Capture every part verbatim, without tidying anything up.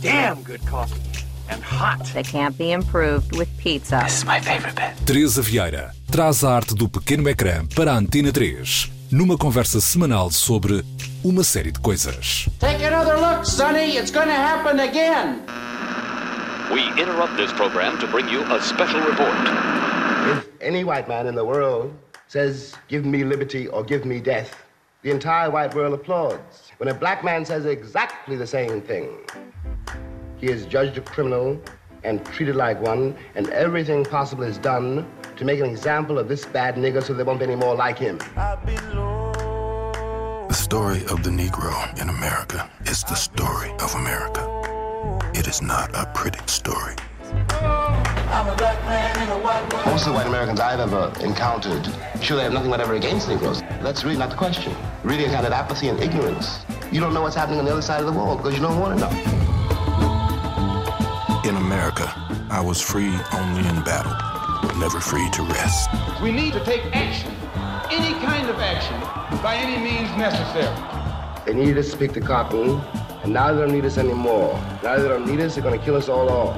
damn good coffee. And hot. That can't be improved with pizza. This is my favorite bit. Teresa Vieira traz a arte do pequeno ecrã para a Antena três, numa conversa semanal sobre uma série de coisas. Take another look, Sonny. It's gonna happen again. We interrupt this program to bring you a special report. If any white man in the world says, give me liberty or give me death, the entire white world applauds. When a black man says exactly the same thing, he is judged a criminal and treated like one, and everything possible is done to make an example of this bad nigger so there won't be any more like him. The story of the Negro in America is the story of America. It is not a pretty story. Most of the white Americans I've ever encountered, sure, they have nothing whatever against Negroes. That's really not the question. Really a kind of apathy and ignorance. You don't know what's happening on the other side of the wall because you don't want to know. In America, I was free only in battle, never free to rest. We need to take action, any kind of action, by any means necessary. They needed us to pick the cotton, and now they don't need us anymore. Now they don't need us, they're going to kill us all off.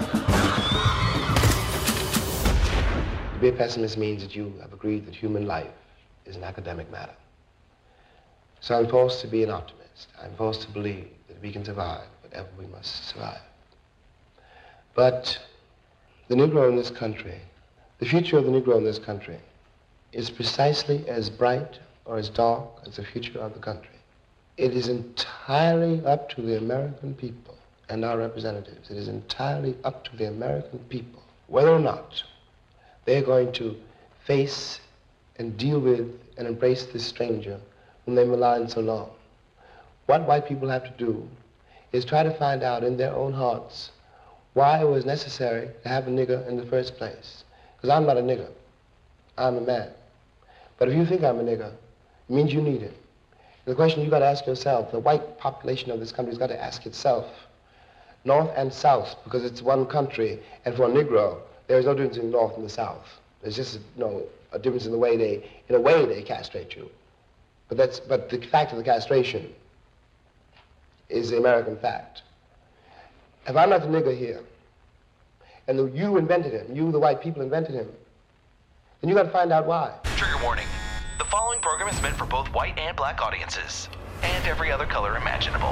To be a pessimist means that you have agreed that human life is an academic matter. So I'm forced to be an optimist. I'm forced to believe that we can survive whatever we must survive. But the Negro in this country, the future of the Negro in this country, is precisely as bright or as dark as the future of the country. It is entirely up to the American people and our representatives. It is entirely up to the American people whether or not they're going to face and deal with and embrace this stranger whom they maligned so long. What white people have to do is try to find out in their own hearts why it was necessary to have a nigger in the first place. Because I'm not a nigger. I'm a man. But if you think I'm a nigger, it means you need it. The question you've got to ask yourself, the white population of this country has got to ask itself, North and South, because it's one country, and for a Negro, there is no difference in the North and the South. There's just you know, a difference in the way they, in a way they castrate you. But that's, but the fact of the castration is the American fact. If I'm not the nigger here, and the, you invented him, you, the white people, invented him, then you got to find out why. Trigger warning. The following program is meant for both white and black audiences, and every other color imaginable.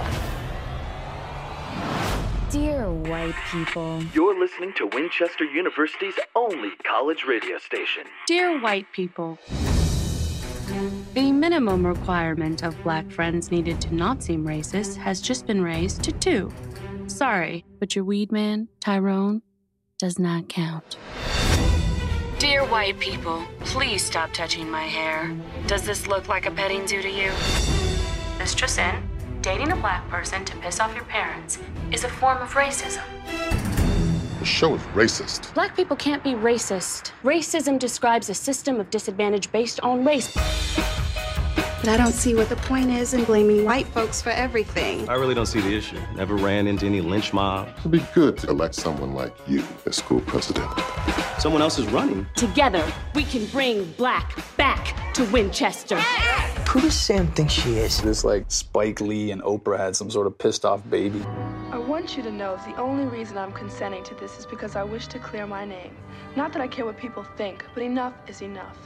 Dear white people. You're listening to Winchester University's only college radio station. Dear white people. The minimum requirement of black friends needed to not seem racist has just been raised to two. Sorry, but your weed man, Tyrone, does not count. Dear white people, please stop touching my hair. Does this look like a petting zoo to you? Mistress N, dating a black person to piss off your parents is a form of racism. The show is racist. Black people can't be racist. Racism describes a system of disadvantage based on race. But I don't see what the point is in blaming white folks for everything. I really don't see the issue. Never ran into any lynch mob. It'd be good to elect someone like you as school president. Someone else is running. Together, we can bring black back to Winchester. Who does Sam think she is? It's like Spike Lee and Oprah had some sort of pissed off baby. I want you to know the only reason I'm consenting to this is because I wish to clear my name. Not that I care what people think, but enough is enough.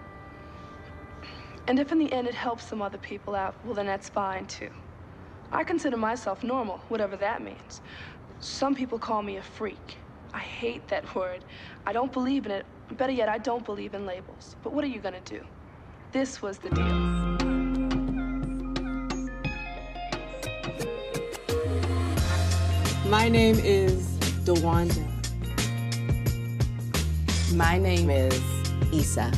And if in the end it helps some other people out, well then that's fine too. I consider myself normal, whatever that means. Some people call me a freak. I hate that word. I don't believe in it. Better yet, I don't believe in labels. But what are you gonna do? This was the deal. My name is DeWanda. My name is Issa.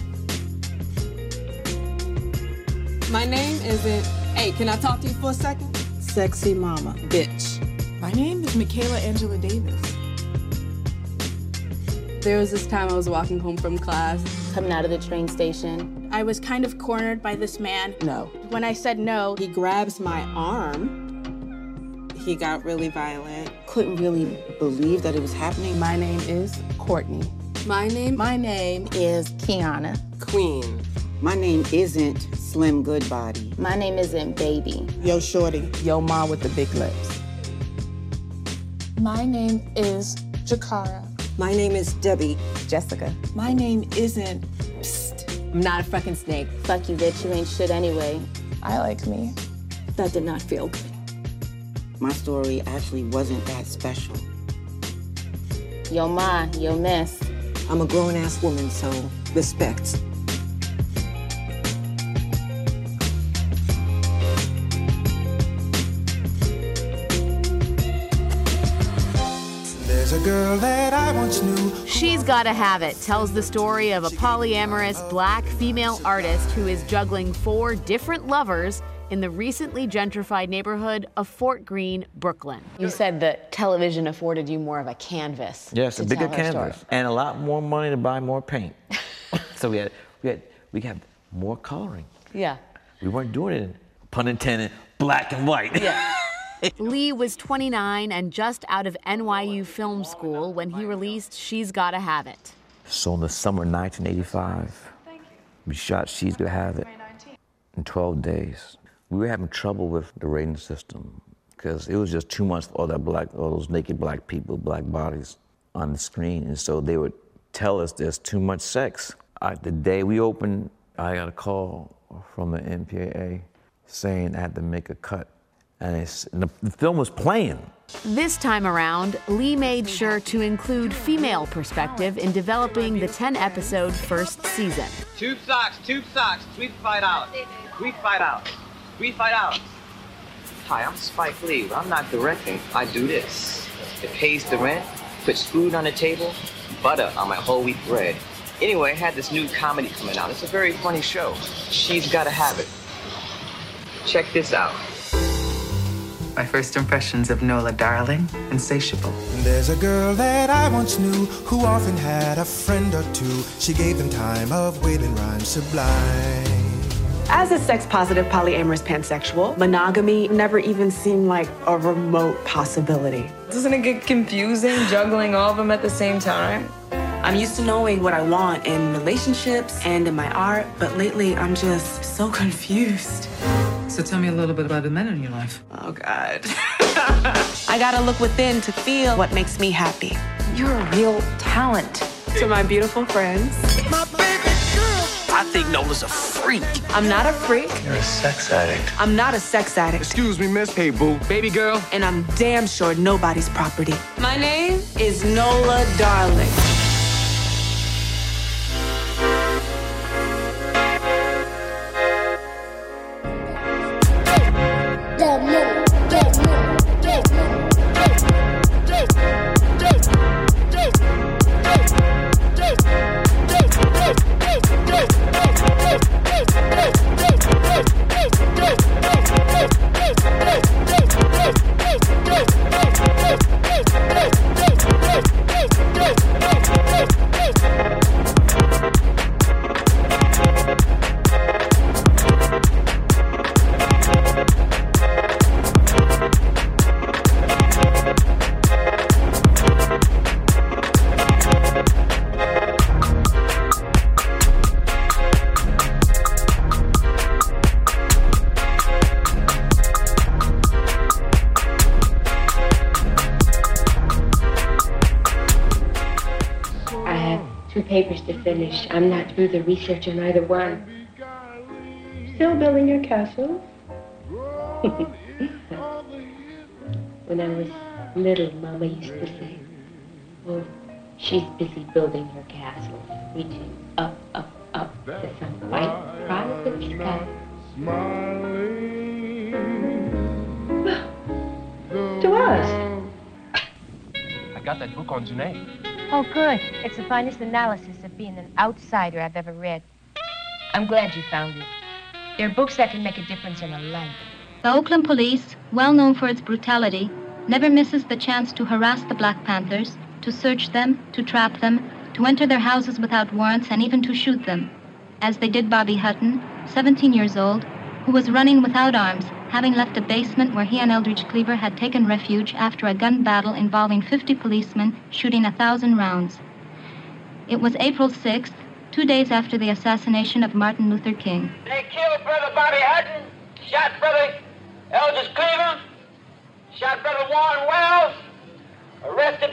My name isn't, hey, can I talk to you for a second? Sexy mama, bitch. My name is Michaela Angela Davis. There was this time I was walking home from class. Coming out of the train station. I was kind of cornered by this man. No. When I said no, he grabs my arm. He got really violent. Couldn't really believe that it was happening. My name is Courtney. My name? My name is Kiana. Queen. My name isn't Slim Goodbody. My name isn't Baby. Yo Shorty. Yo Ma with the big lips. My name is Jakara. My name is Debbie. Jessica. My name isn't... Psst. I'm not a fucking snake. Fuck you, bitch. You ain't shit anyway. I like me. That did not feel good. My story actually wasn't that special. Yo ma, yo miss. I'm a grown-ass woman, so respect. There's a girl that I once knew. She's Gotta Have It tells the story of a polyamorous black female artist who is juggling four different lovers in the recently gentrified neighborhood of Fort Greene, Brooklyn. You said that television afforded you more of a canvas. Yes, a bigger tell her canvas story. and a lot more money to buy more paint. So we had, we had, we had more coloring. Yeah. We weren't doing it in, pun intended, black and white. Yeah. Lee was twenty-nine and just out of N Y U Film School when he released She's Gotta Have It. So in the summer of nineteen eighty-five, we shot She's Gotta Have It in twelve days. We were having trouble with the rating system because it was just too much for all that black, all those naked black people, black bodies on the screen. And so they would tell us there's too much sex. I, the day we opened, I got a call from the M P A A saying I had to make a cut. And, it's, and the, the film was playing. This time around, Lee made sure to include female perspective in developing the ten-episode first season. Tube socks, tube socks, sweet fight out. Sweet fight out. Sweet fight out. Hi, I'm Spike Lee. I'm not directing. I do this. It pays the rent, puts food on the table, butter on my whole wheat bread. Anyway, I had this new comedy coming out. It's a very funny show. She's Gotta Have It. Check this out. My first impressions of Nola Darling, Insatiable. There's a girl that I once knew who often had a friend or two. She gave them time of waiting rhyme sublime. As a sex-positive polyamorous pansexual, monogamy never even seemed like a remote possibility. Doesn't it get confusing juggling all of them at the same time? I'm used to knowing what I want in relationships and in my art, but lately I'm just so confused. So tell me a little bit about the men in your life. Oh, God. I gotta look within to feel what makes me happy. You're a real talent. To my beautiful friends. My baby girl. I think Nola's a freak. I'm not a freak. You're a sex addict. I'm not a sex addict. Excuse me, miss. Hey, boo. Baby girl. And I'm damn sure nobody's property. My name is Nola Darling. Papers to finish. I'm not through the research on either one. Still building your castle? When I was little, Mama used to say, oh, she's busy building her castle, reaching up, up, up to some white private sky. To us. I got that book on Janae. Oh, good. It's the finest analysis of being an outsider I've ever read. I'm glad you found it. There are books that can make a difference in a life. The Oakland police, well known for its brutality, never misses the chance to harass the Black Panthers, to search them, to trap them, to enter their houses without warrants, and even to shoot them, as they did Bobby Hutton, seventeen years old, who was running without arms, having left a basement where he and Eldridge Cleaver had taken refuge after a gun battle involving fifty policemen shooting a thousand rounds. It was April sixth, two days after the assassination of Martin Luther King. They killed Brother Bobby Hutton, shot Brother Eldridge Cleaver, shot Brother Warren Wells,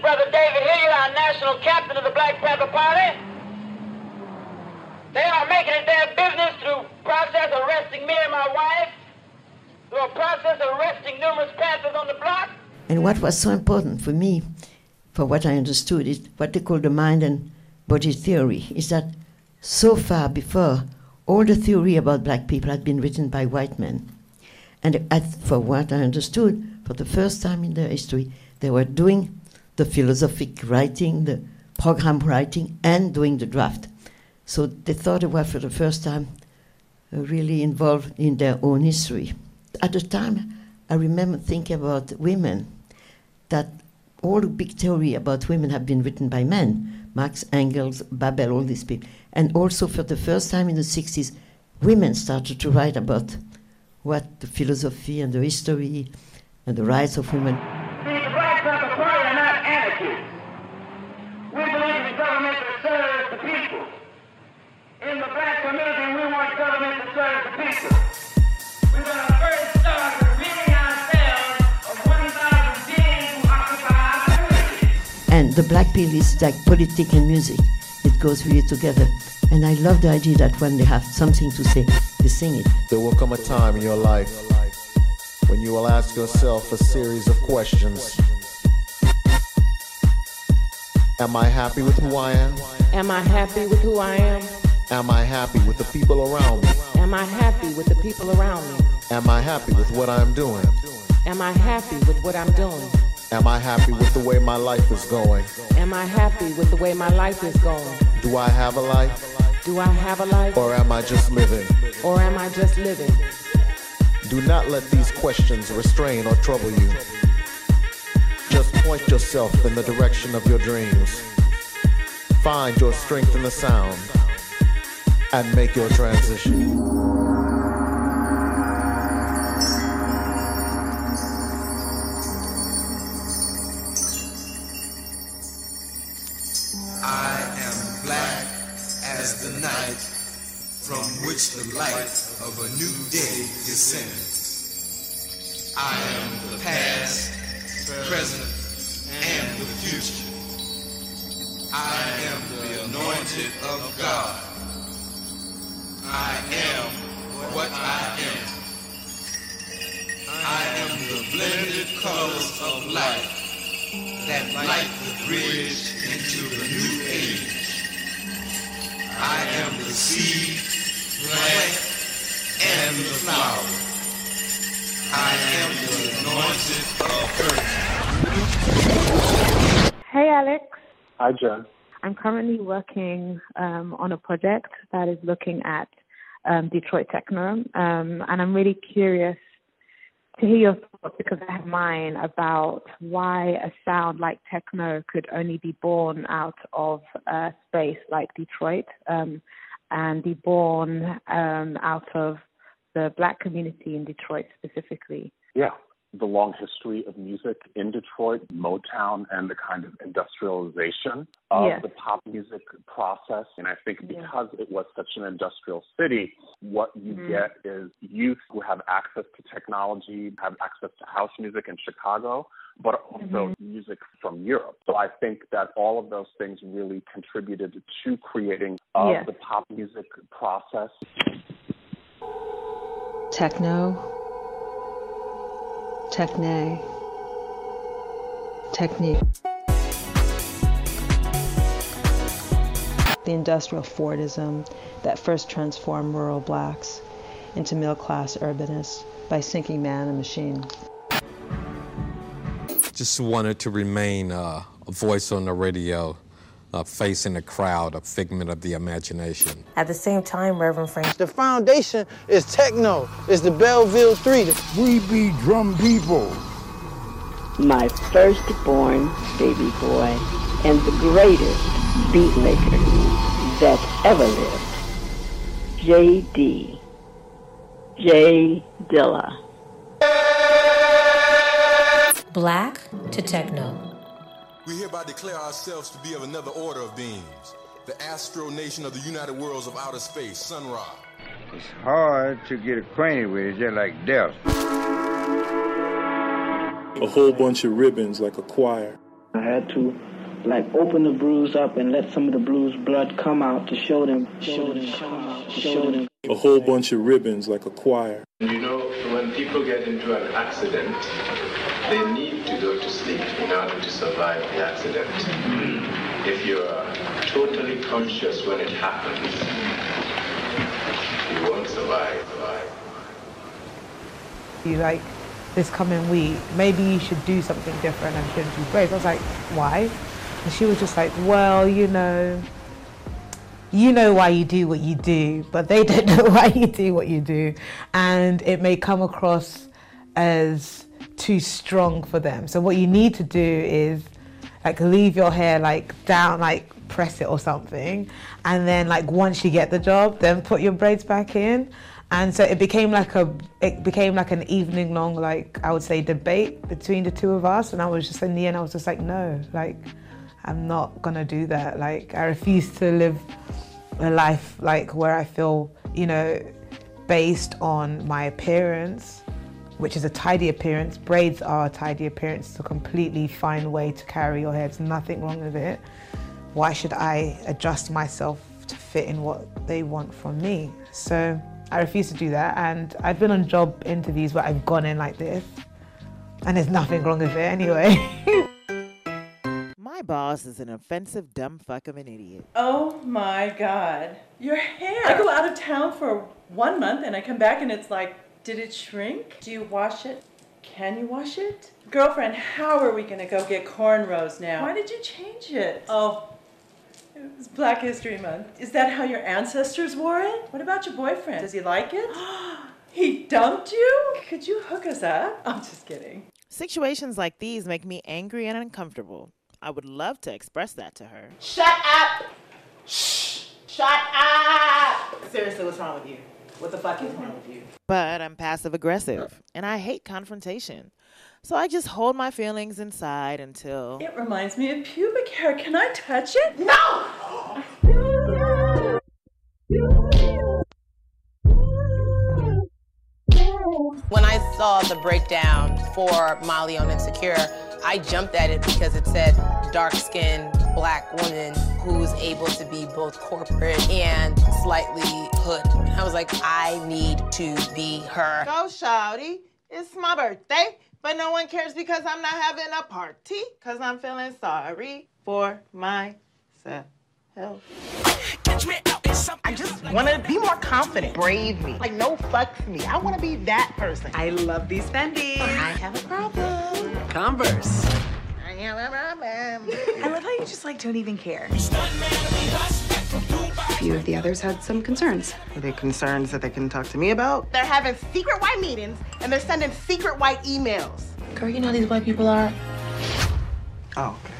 Brother David Hilliard, our national captain of the Black Panther Party. They are making it their business through process arresting me and my wife, through a process arresting numerous Panthers on the block. And what was so important for me, for what I understood, is what they call the mind and body theory, is that so far before, all the theory about black people had been written by white men. And as for what I understood, for the first time in their history, they were doing the philosophic writing, the program writing, and doing the draft. So they thought they were, for the first time, uh, really involved in their own history. At the time, I remember thinking about women, that all the big theory about women have been written by men, Marx, Engels, Babel, all these people. And also for the first time in the sixties, women started to write about what the philosophy and the history and the rights of women. See, the Black Panther Party are not anarchists. We believe in government that serves the people. In the black community, we want government to serve the people. We're going to first start with ridding ourselves of one thousand beings who occupy our community. And the black pill is like politics and music. It goes really together. And I love the idea that when they have something to say, they sing it. There will come a time in your life when you will ask yourself a series of questions. Am I happy with who I am? Am I happy with who I am? Am I happy with the people around me? Am I happy with the people around me? Am I happy with what I'm doing? Am I happy with what I'm doing? Am I happy with the way my life is going? Am I happy with the way my life is going? Do I have a life? Do I have a life? Or am I just living? Or am I just living? Do not let these questions restrain or trouble you. Just point yourself in the direction of your dreams. Find your strength in the sound and make your transition. I am black as the night from which the light of a new day descends. I am the past, present, and the future. I am the anointed of God. I am what I am. I am the blended colors of life that light the bridge into the new age. I am the seed, plant, and the flower. I am the anointed of earth. Hey, Alex. Hi, Jen. I'm currently working um, on a project that is looking at um, Detroit techno, um, and I'm really curious to hear your thoughts, because I have mine, about why a sound like techno could only be born out of a space like Detroit, um, and be born um, out of the black community in Detroit specifically. Yeah, the long history of music in Detroit, Motown, and the kind of industrialization of yes. the pop music process. And I think because yeah. it was such an industrial city, what you mm-hmm. get is youth who have access to technology, have access to house music in Chicago, but also mm-hmm. music from Europe. So I think that all of those things really contributed to creating of yes. the pop music process. Techno. Techne, technique. The industrial Fordism that first transformed rural blacks into middle-class urbanists by sinking man and machine. Just wanted to remain uh, a voice on the radio, uh, facing the crowd, a figment of the imagination. At the same time, Reverend Frank, the foundation is techno. It's the Belleville Three. We be drum people. My firstborn baby boy and the greatest beat maker that ever lived, J D. J Dilla. Black to techno. We hereby declare ourselves to be of another order of beings, the Astro Nation of the United Worlds of Outer Space, Sun Ra. It's hard to get acquainted with, it's just like death. A whole bunch of ribbons like a choir. I had to like open the bruise up and let some of the bruise blood come out to show them, show them, come out, to show them. A whole bunch of ribbons like a choir. You know, when people get into an accident, they need to go to sleep in order to survive the accident. If you're totally conscious when it happens, you won't survive. You like, this coming week, maybe you should do something different and shouldn't do braids. I was like, why? And she was just like, well, you know, you know why you do what you do, but they don't know why you do what you do. And it may come across as too strong for them. So what you need to do is like leave your hair like down, like press it or something. And then like once you get the job, then put your braids back in. And so it became like a, it became like an evening long, like I would say debate between the two of us. And I was just, in the end, I was just like, no, like, I'm not gonna do that. Like, I refuse to live a life like where I feel, you know, based on my appearance, which is a tidy appearance. Braids are a tidy appearance. It's a completely fine way to carry your hair. There's nothing wrong with it. Why should I adjust myself to fit in what they want from me? So I refuse to do that. And I've been on job interviews where I've gone in like this, and there's nothing wrong with it anyway. My boss is an offensive dumb fuck of an idiot. Oh my God. Your hair. I go out of town for one month and I come back and it's like, did it shrink? Do you wash it? Can you wash it? Girlfriend, how are we gonna go get cornrows now? Why did you change it? Oh, it was Black History Month. Is that how your ancestors wore it? What about your boyfriend? Does he like it? He dumped you? Could you hook us up? I'm just kidding. Situations like these make me angry and uncomfortable. I would love to express that to her. Shut up! Shh! Shut up! Seriously, what's wrong with you? What the fuck is wrong with you? But I'm passive aggressive, and I hate confrontation. So I just hold my feelings inside until... It reminds me of pubic hair. Can I touch it? No! When I saw the breakdown for Molly on Insecure, I jumped at it because it said dark-skinned black woman who's able to be both corporate and slightly hood. And I was like, I need to be her. Go, shawty. It's my birthday, but no one cares because I'm not having a party because I'm feeling sorry for myself. I just want to be more confident. Brave me. Like, no fucks me. I want to be that person. I love these Fendi. I have a problem. Converse. I have a problem. I love how you just, like, don't even care. A few of the others had some concerns. Are they concerns that they can talk to me about? They're having secret white meetings, and they're sending secret white emails. Girl, you know how these white people are? Oh, okay.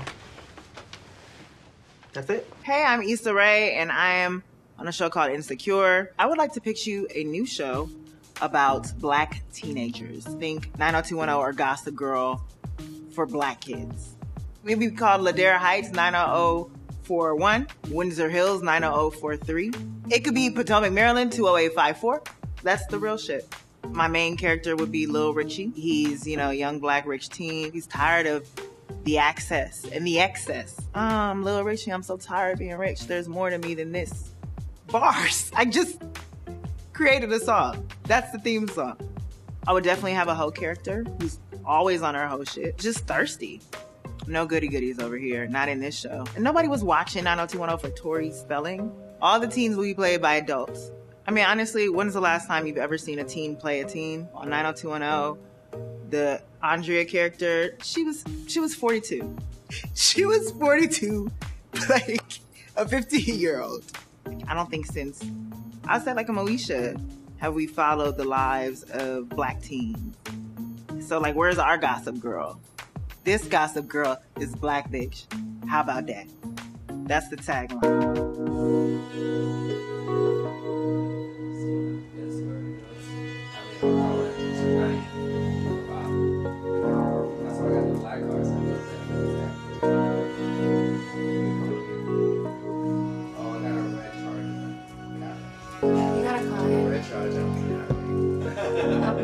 That's it? Hey, I'm Issa Rae, and I am on a show called Insecure. I would like to pitch you a new show about black teenagers. Think nine oh two one oh or Gossip Girl for black kids. Maybe called Ladera Heights nine oh oh four one, Windsor Hills nine oh oh four three. It could be Potomac, Maryland two oh eight five four. That's the real shit. My main character would be Lil Richie. He's, you know, a young black rich teen. He's tired of the access and the excess. Um, Lil Richie, I'm so tired of being rich. There's more to me than this. Bars. I just created a song. That's the theme song. I would definitely have a hoe character who's always on her hoe shit. Just thirsty. No goody goodies over here. Not in this show. And nobody was watching nine oh two one oh for Tori Spelling. All the teens will be played by adults. I mean, honestly, when's the last time you've ever seen a teen play a teen? On nine oh two one oh, the Andrea character, she was she was forty-two. She was forty-two, like a fifteen-year-old. I don't think since, I said like a Moesha, have we followed the lives of black teens. So like, where's our Gossip Girl? This Gossip Girl is black bitch. How about that? That's the tagline.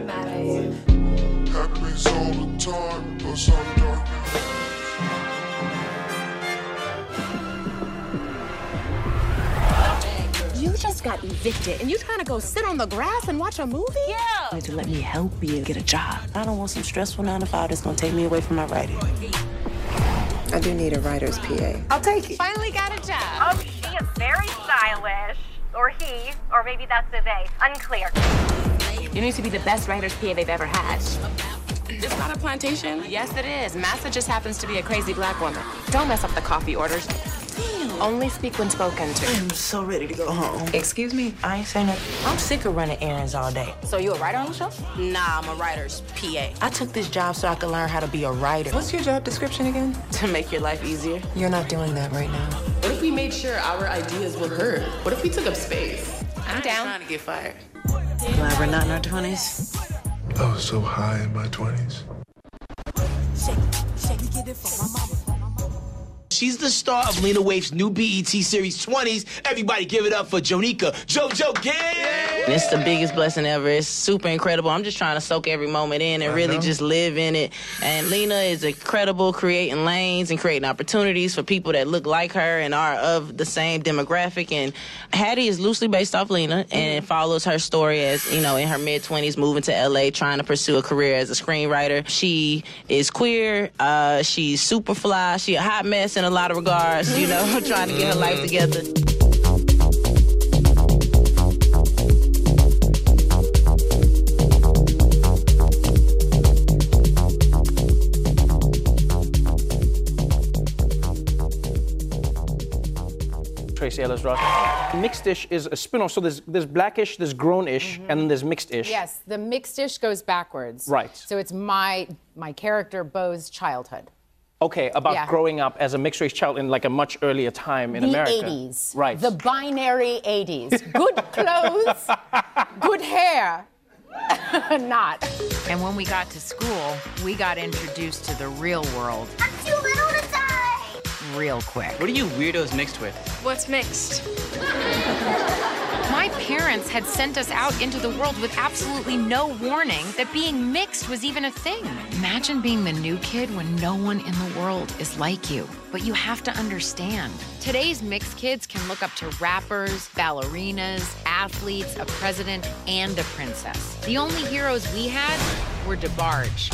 Happens all the time, plus I'm dark. got evicted, and you trying to go sit on the grass and watch a movie? Yeah. To let me help you get a job. I don't want some stressful nine to five that's gonna take me away from my writing. I do need a writer's P A. I'll take it. Finally got a job. Oh, she is very stylish. Or he, or maybe that's the they. Unclear. You need to be the best writer's P A they've ever had. It's not a plantation. Yes, it is. Massa just happens to be a crazy black woman. Don't mess up the coffee orders. Damn. Only speak when spoken to. I'm so ready to go home. Excuse me? I ain't saying nothing. I'm sick of running errands all day. So you a writer on the show? Nah, I'm a writer's P A. I took this job so I could learn how to be a writer. What's your job description again? To make your life easier. You're not doing that right now. What if we made sure our ideas were heard? What if we took up space? I'm down. Trying to get fired. Glad we're not in our twenties. I was so high in my twenties. She's the star of Lena Waithe's new B E T Series twenties. Everybody give it up for Jonika JoJo Gibbs! It's the biggest blessing ever. It's super incredible. I'm just trying to soak every moment in and I really know. just live in it. And Lena is incredible, creating lanes and creating opportunities for people that look like her and are of the same demographic. And Hattie is loosely based off Lena, and it follows her story as, you know, in her mid-twenties, moving to L A, trying to pursue a career as a screenwriter. She is queer. Uh, she's super fly. She a hot mess in a lot of regards, you know, trying to get her life together. Tracy Ellis Ross. Mixed-ish is a spin-off, so there's, there's blackish, there's grown-ish, mm-hmm. and then there's mixed-ish. Yes, the mixed-ish goes backwards. Right. So it's my my character, Beau's childhood. Okay, about Yeah. growing up as a mixed-race child in like a much earlier time in the America. eighties. Right. The binary eighties. Good clothes, good hair. Not. And when we got to school, we got introduced to the real world I'm too little to die. real quick. What are you weirdos mixed with? What's mixed? My parents had sent us out into the world with absolutely no warning that being mixed was even a thing. Imagine being the new kid when no one in the world is like you. But you have to understand, today's mixed kids can look up to rappers, ballerinas, athletes, a president, and a princess. The only heroes we had were DeBarge.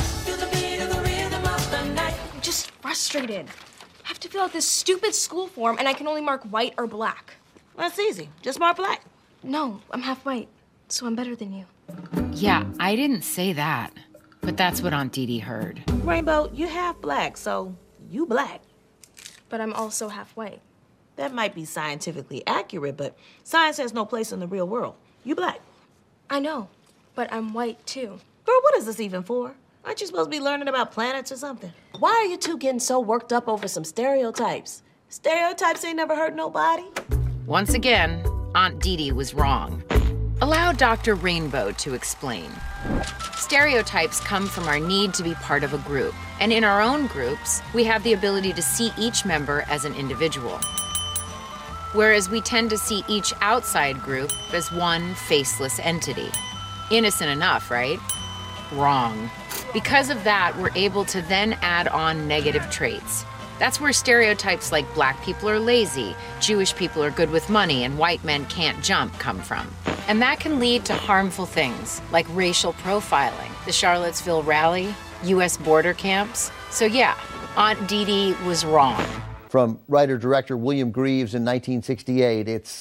I'm just frustrated. I have to fill out this stupid school form and I can only mark white or black. That's easy. Just mark black. No, I'm half white, so I'm better than you. Yeah, I didn't say that, but that's what Aunt Dee Dee heard. Rainbow, you half black, so you black. But I'm also half white. That might be scientifically accurate, but science has no place in the real world. You black. I know, but I'm white too. Girl, what is this even for? Aren't you supposed to be learning about planets or something? Why are you two getting so worked up over some stereotypes? Stereotypes ain't never hurt nobody. Once again, Aunt Dee Dee was wrong. Allow Doctor Rainbow to explain. Stereotypes come from our need to be part of a group. And in our own groups, we have the ability to see each member as an individual. Whereas we tend to see each outside group as one faceless entity. Innocent enough, right? Wrong. Because of that, we're able to then add on negative traits. That's where stereotypes like black people are lazy, Jewish people are good with money, and white men can't jump come from. And that can lead to harmful things like racial profiling, the Charlottesville rally, U S border camps. So yeah, Aunt Dee Dee was wrong. From writer-director William Greaves in nineteen sixty-eight, it's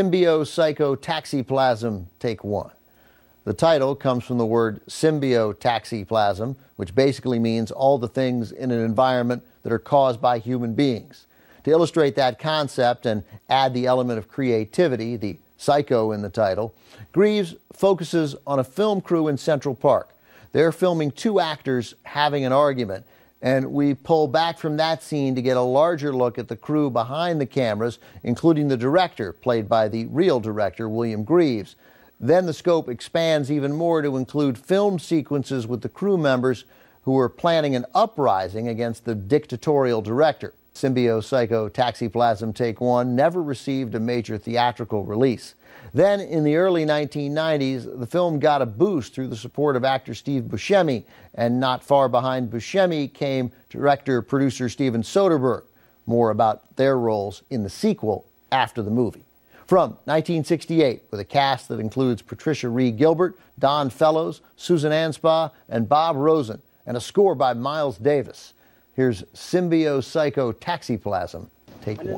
Symbiotoxicoplasm, Take One. The title comes from the word symbiotoxicoplasm, which basically means all the things in an environment that are caused by human beings. To illustrate that concept and add the element of creativity, the psycho in the title, Greaves focuses on a film crew in Central Park. They're filming two actors having an argument, and we pull back from that scene to get a larger look at the crew behind the cameras, including the director, played by the real director, William Greaves. Then the scope expands even more to include film sequences with the crew members who are planning an uprising against the dictatorial director. Symbiotoxicoplasm Take One never received a major theatrical release. Then, in the early nineteen nineties, the film got a boost through the support of actor Steve Buscemi, and not far behind Buscemi came director-producer Steven Soderbergh. More about their roles in the sequel after the movie. From nineteen sixty-eight, with a cast that includes Patricia Ree Gilbert, Don Fellows, Susan Anspaugh, and Bob Rosen, and a score by Miles Davis. Here's Symbio Psycho Taxiplasm. Take one.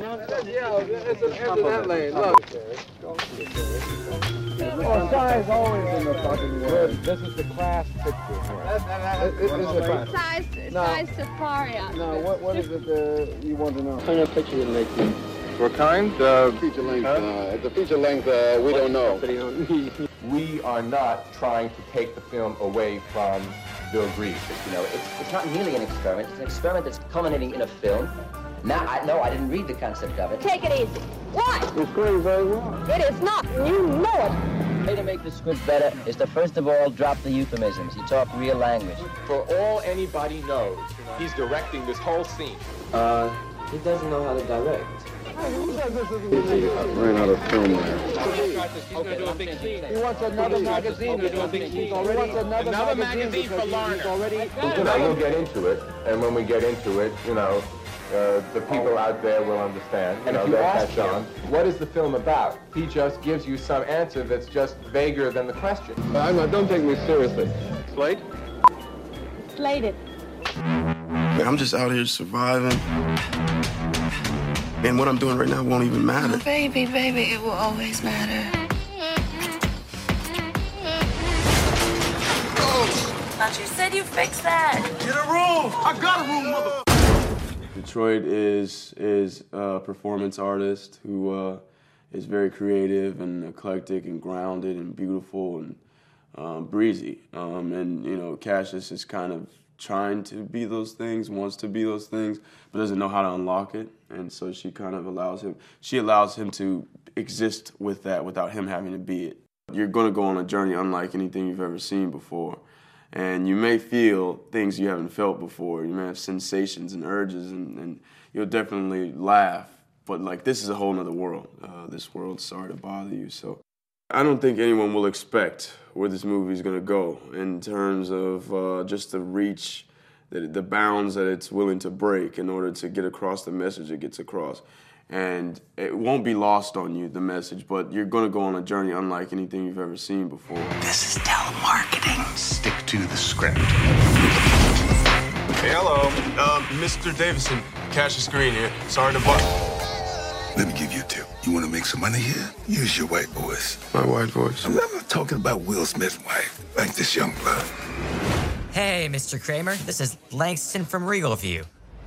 Oh, size always in the fucking way. This is the class picture here. This is the class. Size, No. size Safaria. No, what, what is it uh, you want to know? What kind of picture you make? What kind? Uh, Feature length. Uh, it's a feature length. Uh, we don't know. We are not trying to take the film away from Bill Greaves. You know, it's, it's not merely an experiment. It's an experiment that's culminating in a film. Now, I, no, I didn't read the concept of it. Take it easy. What? It's going very well. It is not. You know it. The way to make the script better is to first of all drop the euphemisms. You talk real language. For all anybody knows, he's directing this whole scene. Uh, he doesn't know how to direct. I ran out of film there. He wants another magazine. He wants another, Another magazine, magazine for because he's already. You know, we'll get into it, and when we get into it, you know, uh, the people out there will understand. You And know, if you they'll ask catch him, on. What is the film about? He just gives you some answer that's just vaguer than the question. I'm not, don't take me seriously. Slate? Slated. Man, I'm just out here surviving. And what I'm doing right now won't even matter. Baby, baby, it will always matter. But you said you fixed that. Get a room! I got a room, mother. Detroit is is a performance artist who uh, is very creative and eclectic and grounded and beautiful and um, breezy. Um, and you know, Cassius is kind of trying to be those things, wants to be those things, but doesn't know how to unlock it. And so she kind of allows him, she allows him to exist with that without him having to be it. You're gonna go on a journey unlike anything you've ever seen before. And you may feel things you haven't felt before. You may have sensations and urges, and, and you'll definitely laugh. But like, this is a whole nother world. Uh, this world's sorry to bother you. So I don't think anyone will expect where this movie is going to go in terms of uh, just the reach, the, the bounds that it's willing to break in order to get across the message it gets across. And it won't be lost on you, the message, but you're going to go on a journey unlike anything you've ever seen before. This is telemarketing. Stick to the script. Hey, hello. Um, Mister Davison, Cassius Green here. Sorry to bother. Let me give you a tip. You want to make some money here? Use your white voice. My white voice? I'm not talking about Will Smith's wife, like this young blood. Hey, Mister Kramer. This is Langston from Regal View.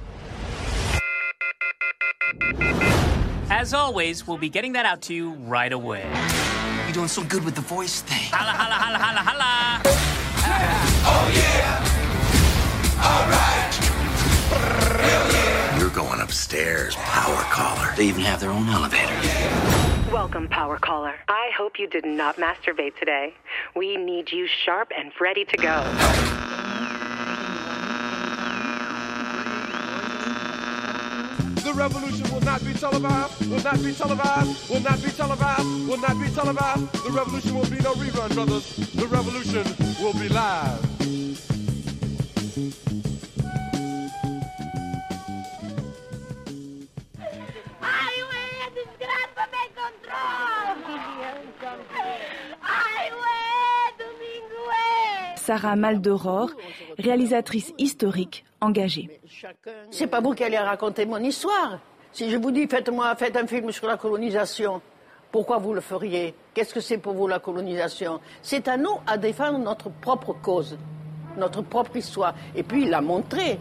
As always, we'll be getting that out to you right away. You're doing so good with the voice thing. Holla, holla, holla, holla, holla. Oh, yeah. All right. Hell yeah. You're going upstairs, power caller. They even have their own elevator. Welcome, Power Caller. I hope you did not masturbate today. We need you sharp and ready to go. The revolution will not be televised, will not be televised, will not be televised, will not be televised. The revolution will be no rerun, brothers. The revolution will be live. Sarah Maldoror, réalisatrice historique engagée. C'est pas vous qui allez raconter mon histoire. Si je vous dis faites-moi faites un film sur la colonisation, pourquoi vous le feriez? Qu'est-ce que c'est pour vous la colonisation? C'est à nous à défendre notre propre cause, notre propre histoire, et puis la montrer.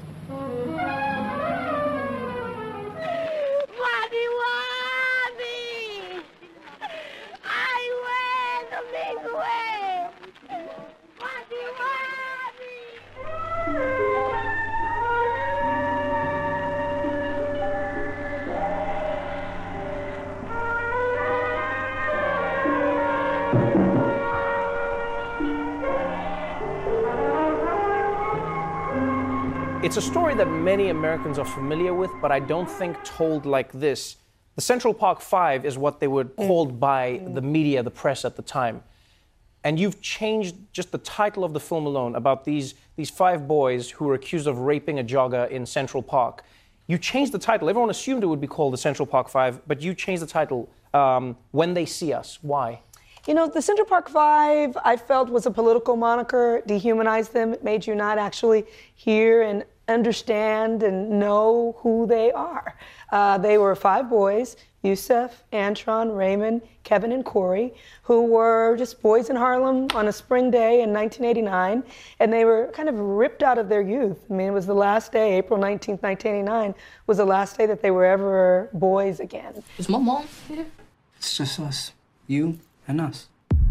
It's a story that many Americans are familiar with, but I don't think told like this. The Central Park Five is what they were called by the media, the press at the time. And you've changed just the title of the film alone about these, these five boys who were accused of raping a jogger in Central Park. You changed the title. Everyone assumed it would be called the Central Park Five, but you changed the title um, when they see us? Why? You know, the Central Park Five, I felt, was a political moniker, dehumanized them. It made you not actually hear and understand and know who they are. Uh, they were five boys, Yusef, Antron, Raymond, Kevin, and Corey, who were just boys in Harlem on a spring day in nineteen eighty-nine, and they were kind of ripped out of their youth. I mean, it was the last day, April nineteenth, nineteen eighty-nine, was the last day that they were ever boys again. Is my mom here? It's just us, you and us.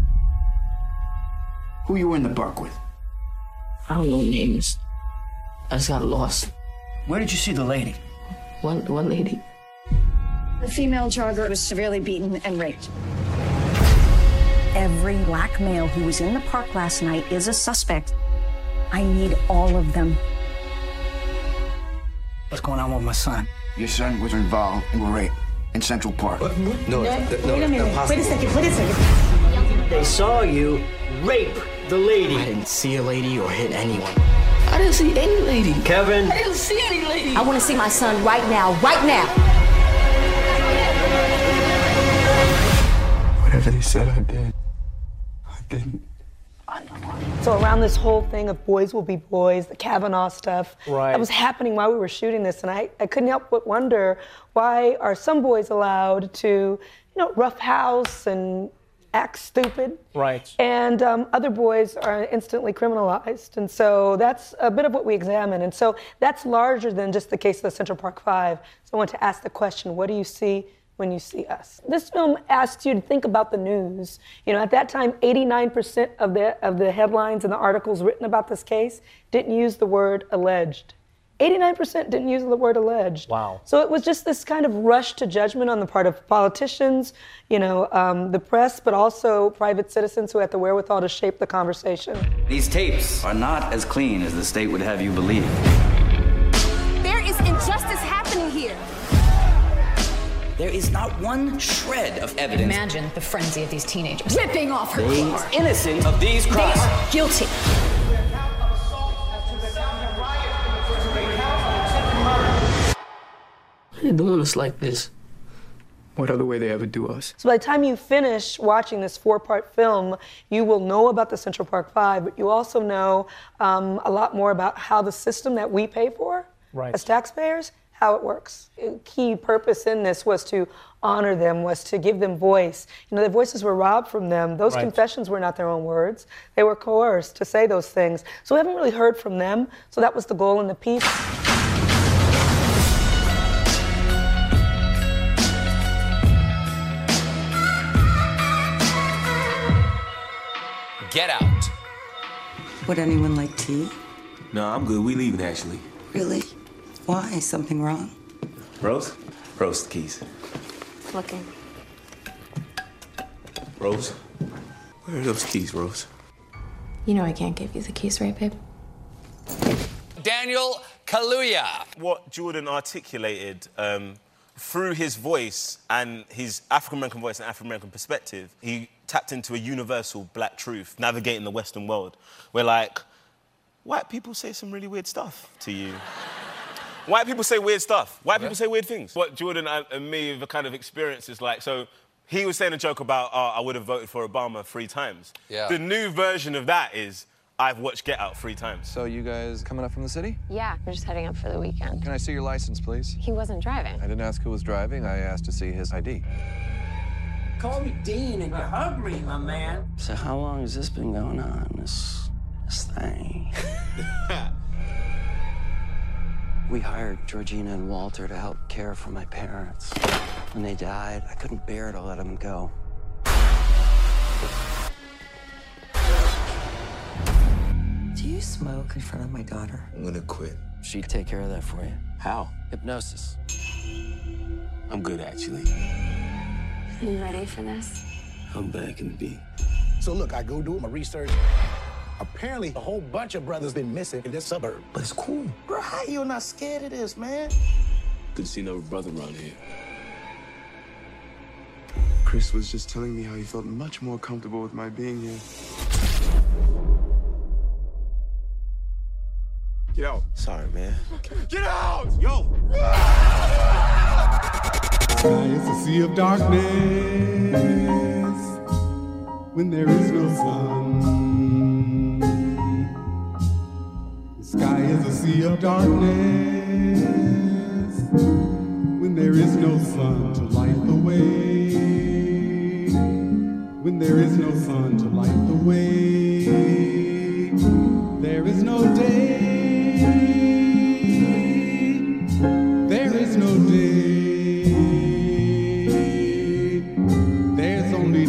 Who you were in the park with? I don't know names. I just got lost. Where did you see the lady? One, one lady. The female jogger was severely beaten and raped. Every black male who was in the park last night is a suspect. I need all of them. What's going on with my son? Your son was involved in a rape in Central Park. What? No, no, no, wait a minute. no, Wait a second. Wait a second. They saw you rape the lady. I didn't see a lady or hit anyone. I didn't see any lady. Kevin. I didn't see any lady. I want to see my son right now. Right now. Whatever they said, I did. I didn't. So around this whole thing of boys will be boys, the Kavanaugh stuff, right. that was happening while we were shooting this, and I, I couldn't help but wonder, why are some boys allowed to, you know, roughhouse and act stupid? Right. And um, other boys are instantly criminalized. And so that's a bit of what we examine. And so that's larger than just the case of the Central Park Five. So I want to ask the question, what do you see when you see us? This film asks you to think about the news. You know, at that time, eighty-nine percent of the of the headlines and the articles written about this case didn't use the word alleged. eighty-nine percent didn't use the word alleged. Wow. So it was just this kind of rush to judgment on the part of politicians, you know, um, the press, but also private citizens who had the wherewithal to shape the conversation. These tapes are not as clean as the state would have you believe. There is injustice happening here. There is not one shred of evidence. Imagine the frenzy of these teenagers. Ripping off her They clothes. are innocent of these crimes. They are guilty. They're doing us like this. What other way they ever do us? So by the time you finish watching this four-part film, you will know about the Central Park Five, but you also know um, a lot more about how the system that we pay for right. as taxpayers, how it works. A key purpose in this was to honor them, was to give them voice. You know, their voices were robbed from them. Those right. confessions were not their own words. They were coerced to say those things. So we haven't really heard from them. So that was the goal in the piece. Get out. Would anyone like tea? No, I'm good. We leaving, actually. Really? Why? Something wrong? Rose? Rose, the keys. Looking. Rose? Where are those keys, Rose? You know I can't give you the keys, right, babe? Daniel Kaluuya. What Jordan articulated um, through his voice and his African-American voice and African-American perspective, he tapped into a universal black truth, navigating the Western world, where, like, white people say some really weird stuff to you. White people say weird stuff. White people say weird things. What Jordan and me have kind of experienced is like, so he was saying a joke about, oh, I would have voted for Obama three times. Yeah. The new version of that is, I've watched Get Out three times. So you guys coming up from the city? Yeah, we're just heading up for the weekend. Can I see your license, please? He wasn't driving. I didn't ask who was driving. I asked to see his I D. Call me Dean and you hug me, my man. So how long has this been going on, this, this thing? We hired Georgina and Walter to help care for my parents. When they died, I couldn't bear to let them go. Do you smoke in front of my daughter? I'm gonna quit. She'd take care of that for you. How? Hypnosis. I'm good, actually. You ready for this? I'm back in the beat. So look, I go do my research. Apparently, a whole bunch of brothers been missing in this suburb. But it's cool. Bro, how you not scared of this, man? Good to see another brother around here. Chris was just telling me how he felt much more comfortable with my being here. Get out. Sorry, man. Get out! Yo! Sky is a sea of darkness when there is no sun. The sky is a sea of darkness when there is no sun to light the way. When there is no sun to light the way, there is no day. There is no day. There's only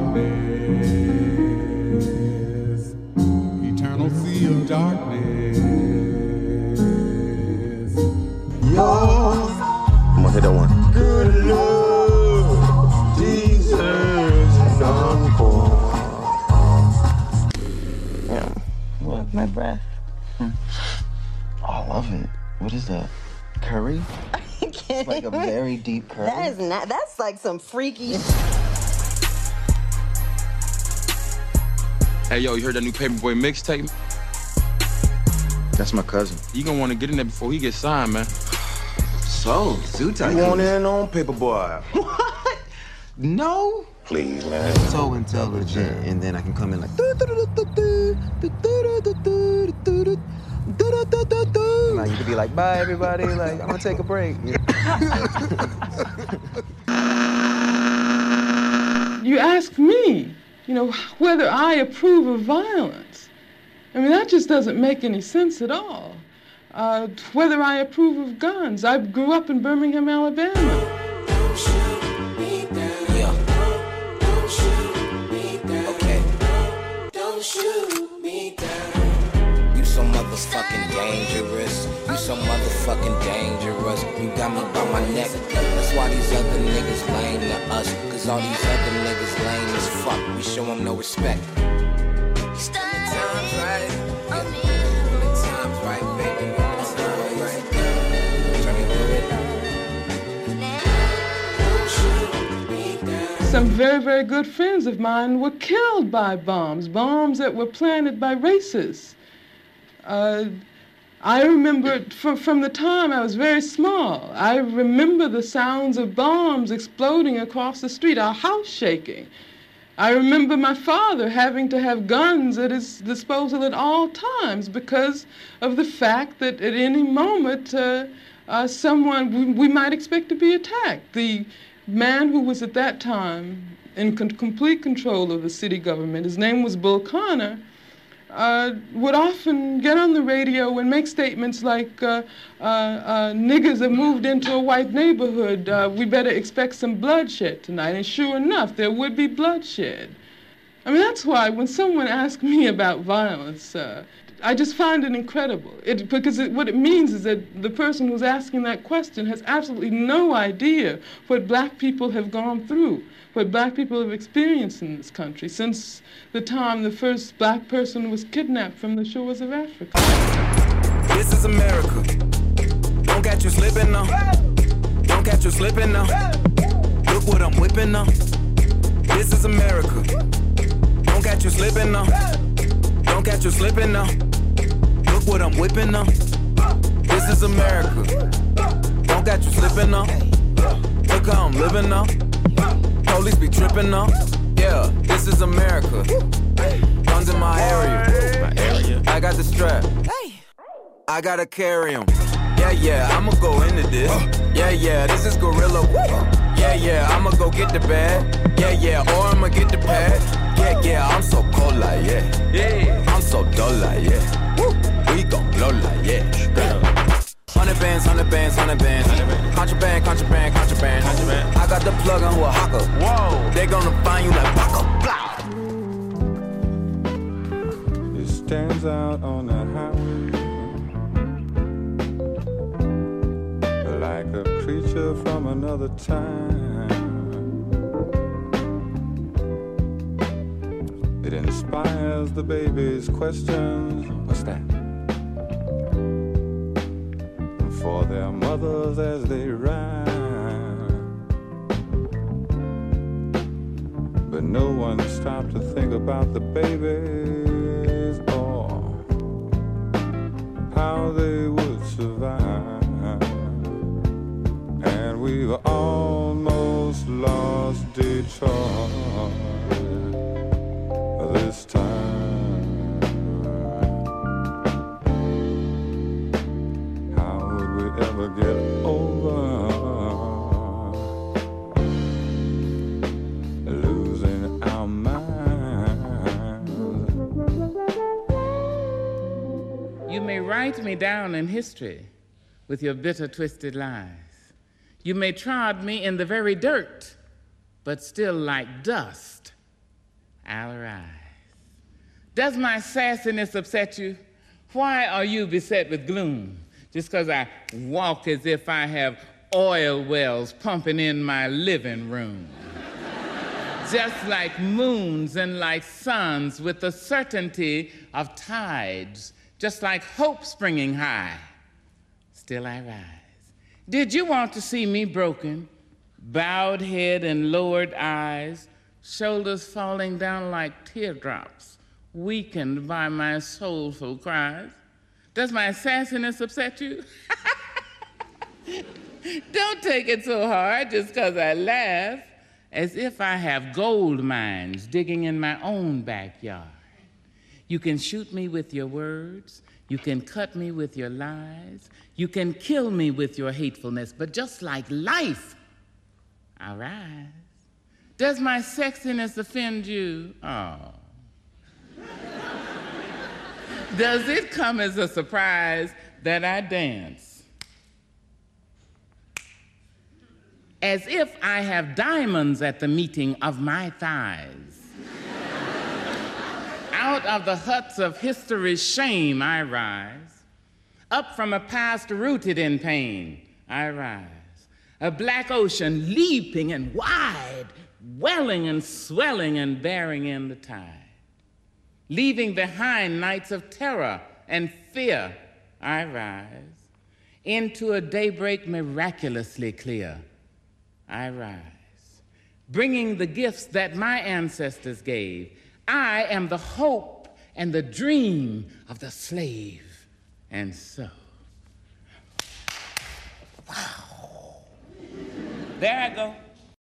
darkness. Eternal sea of darkness. Yo, I'm gonna hit that one. Good Lord, Jesus, encore. Yeah. What? My breath. Hmm. Oh, I love it. What is that? Curry? It's like a very deep curry. That is not. That's like some freaky. Hey, yo, you heard that new Paperboy mixtape? That's my cousin. You gonna want to get in there before he gets signed, man. So, Zoo Tycoon. You want in on Paperboy? What? No? Please, man. So intelligent. And then I can come in like... Like, you could be like, bye, everybody. Like, I'm gonna take a break. You ask me, you know, whether I approve of violence. I mean, that just doesn't make any sense at all. Uh, whether I approve of guns. I grew up in Birmingham, Alabama. Don't shoot me down. Yeah. Don't shoot me down. Okay. Don't shoot me down. You so motherfucking dangerous. You so motherfucking dangerous. You got me by my neck. That's why these other niggas lame to us. Cause all these other niggas lame as fuck. We show them no respect. Times right. Times right, baby. Some very, very good friends of mine were killed by bombs, bombs that were planted by racists. Uh, I remember from, from the time I was very small, I remember the sounds of bombs exploding across the street, our house shaking. I remember my father having to have guns at his disposal at all times because of the fact that at any moment uh, uh, someone, we, we might expect to be attacked. The man who was at that time in con- complete control of the city government, his name was Bull Connor, uh, would often get on the radio and make statements like, uh, uh, uh, niggers have moved into a white neighborhood, uh, we better expect some bloodshed tonight. And sure enough, there would be bloodshed. I mean, that's why when someone asks me about violence, uh, I just find it incredible. It, because it, what it means is that the person who's asking that question has absolutely no idea what black people have gone through, what black people have experienced in this country since the time the first black person was kidnapped from the shores of Africa. This is America. Don't catch you slipping now. Don't catch you slipping now. Look what I'm whipping now. This is America. Don't catch you slipping now. Don't catch you slipping now. Look what I'm whipping now. This is America. Don't catch you slipping now. Look how I'm living now. Police be tripping now. Yeah, this is America. Guns in my area. My area. I got the strap. I gotta carry 'em. Yeah, yeah, I'ma go into this. Yeah, yeah, this is gorilla. Yeah, yeah, I'ma go get the bag. Yeah, yeah, or I'ma get the pad. Yeah, yeah, I'm so cold like, yeah. Yeah, I'm so dull like, yeah. We gon' blow like, yeah. Hundred bands, hundred bands, hundred bands. Contraband, contraband, contraband. I got the plug on who a hawker. Whoa, they gonna find you like Paco. It stands out on the highway like a creature from another time. It inspires the baby's questions. What's that? For their mothers as they ride. But no one stopped to think about the babies or how they would survive. And we've almost lost each other this time. How would we ever get over losing our minds? You may write me down in history with your bitter, twisted lies. You may trod me in the very dirt, but still like dust, I'll rise. Does my sassiness upset you? Why are you beset with gloom? Just because I walk as if I have oil wells pumping in my living room. Just like moons and like suns with the certainty of tides, just like hope springing high, still I rise. Did you want to see me broken, bowed head and lowered eyes, shoulders falling down like teardrops, weakened by my soulful cries? Does my sassiness upset you? Don't take it so hard just because I laugh, as if I have gold mines digging in my own backyard. You can shoot me with your words, you can cut me with your lies, you can kill me with your hatefulness, but just like life, I rise. Does my sexiness offend you? Oh. Does it come as a surprise that I dance as if I have diamonds at the meeting of my thighs? Out of the huts of history's shame I rise. Up from a past rooted in pain I rise. A black ocean leaping and wide, welling and swelling and bearing in the tide. Leaving behind nights of terror and fear I rise. Into a daybreak miraculously clear I rise. Bringing the gifts that my ancestors gave. I am the hope and the dream of the slave. And so, wow. There I go.